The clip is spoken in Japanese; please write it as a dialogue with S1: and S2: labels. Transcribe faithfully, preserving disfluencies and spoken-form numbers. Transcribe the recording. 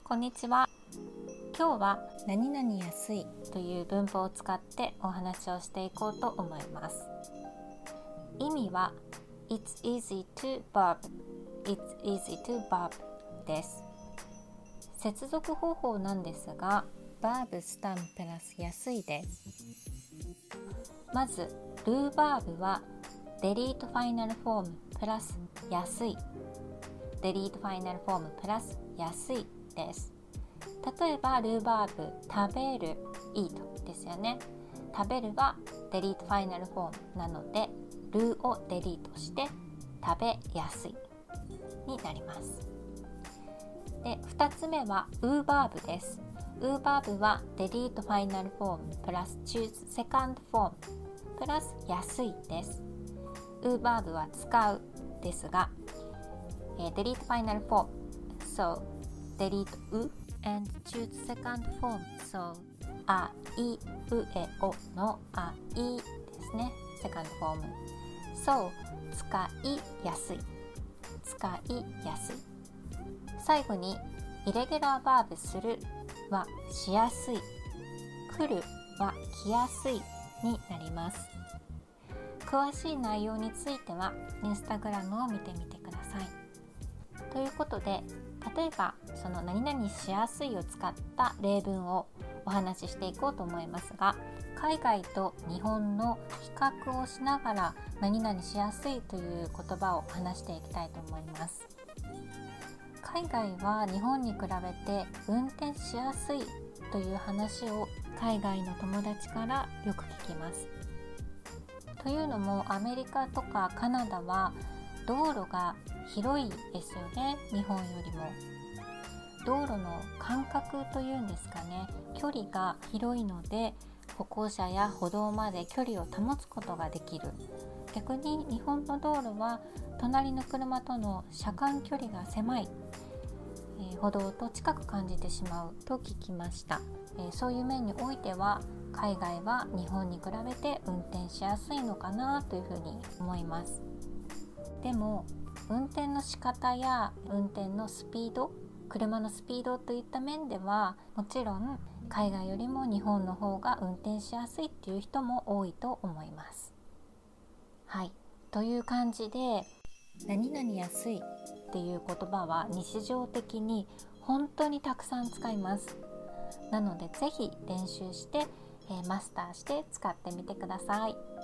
S1: こんにちは。今日は何々安いという文法を使ってお話をしていこうと思います。意味は It's easy to bob It's easy to bob です。接続方法なんですが verb スタンプラス安いです。まず do verb は delete ファイナルフォームプラス安い delete ファイナルフォームプラス安いです。例えばルーバーブ食べる eat ですよね。食べるは delete ファイナルフォームなのでルーをデリートして食べやすいになります。でふたつめはウーバーブです。ウーバーブは delete ファイナルフォームプラス choose second form プラス安いです。ウーバーブは使うですが、えー、delete ファイナルフォーム so delete う and choose second form so あいうえおのあいですね。セカンドフォーム so 使いやすい使いやすい。最後にイレギュラーバーブするはしやすい来るは来やすいになります。詳しい内容についてはインスタグラムを見てみてください。ということで例えばその何々しやすいを使った例文をお話ししていこうと思いますが、海外と日本の比較をしながら何々しやすいという言葉を話していきたいと思います。海外は日本に比べて運転しやすいという話を海外の友達からよく聞きます。というのもアメリカとかカナダは道路が広いですよね。日本よりも道路の間隔というんですかね、距離が広いので歩行者や歩道まで距離を保つことができる。逆に日本の道路は隣の車との車間距離が狭い、えー、歩道と近く感じてしまうと聞きました。えー、そういう面においては海外は日本に比べて運転しやすいのかなというふうに思います。でも運転の仕方や運転のスピード、車のスピードといった面ではもちろん海外よりも日本の方が運転しやすいっていう人も多いと思います。はい、という感じで何々安いっていう言葉は日常的に本当にたくさん使います。なのでぜひ練習して、えー、マスターして使ってみてください。